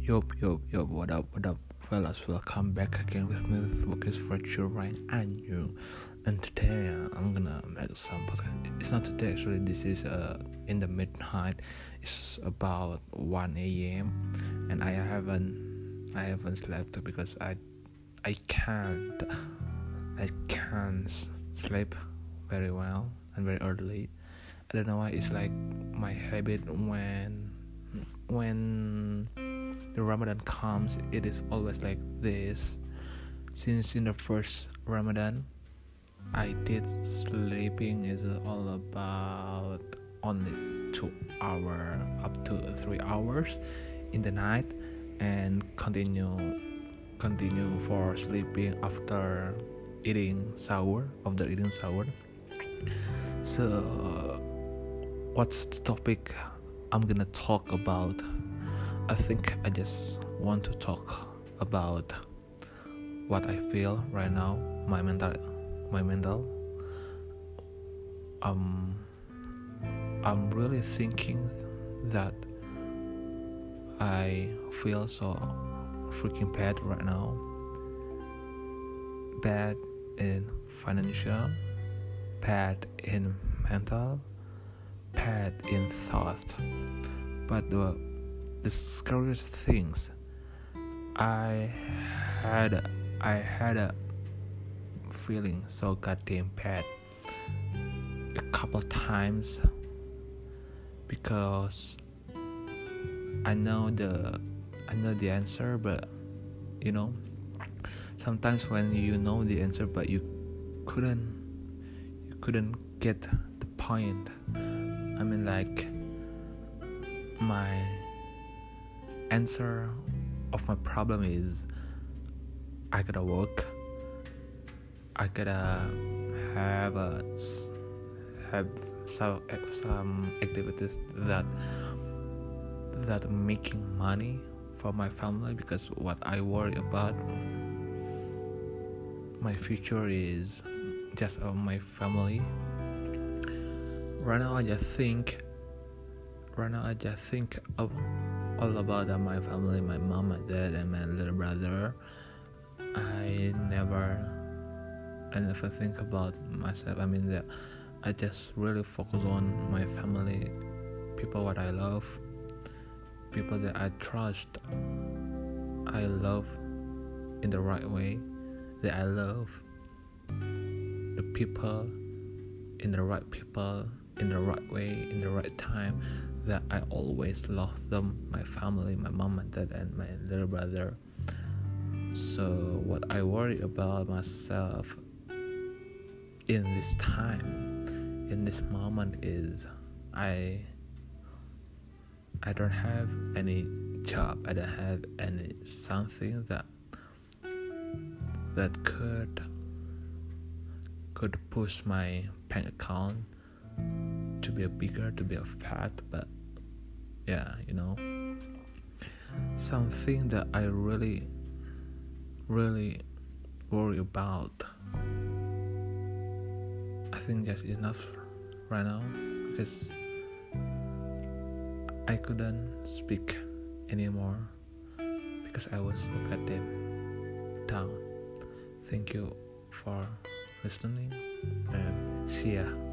Yo, what up, fellas? Welcome back again with me with Focus Virtual Ryan and you. And today I'm gonna make some podcast. It's not today actually. This is in the midnight. It's about 1 a.m. and I haven't slept because I can't sleep very well and very early. I don't know why. It's like my habit when the Ramadan comes, it is always like this. Since in the first Ramadan, I did sleeping is all about only 2 hours up to 3 hours in the night, and continue for sleeping after eating sahur. So, what's the topic I'm gonna talk about? I think I just want to talk about what I feel right now, my mental. I'm really thinking that I feel so freaking bad right now. Bad in financial, bad in mental, bad in thought. But the scariest things, I had a feeling so goddamn bad a couple times because I know the answer, but sometimes when you know the answer but you couldn't get the point. I mean, like, my answer of my problem is I gotta work, I gotta have some activities that making money for my family, because what I worry about my future is just my family. Right now I just think of all about my family, my mom, my dad, and my little brother. I never think about myself. I mean, that I just really focus on my family, people what I love, people that I trust. I love in the right way, that I love the people in the right way, in the right time, that I always love them, my family, my mom and dad, and my little brother. So what I worry about myself in this time, in this moment, is I don't have any job, I don't have any something that could push my bank account to be bigger, to be a fat. But yeah, something that I really worry about. I think that's enough right now, because I couldn't speak anymore because I was so goddamn down. Thank you for listening, and see ya.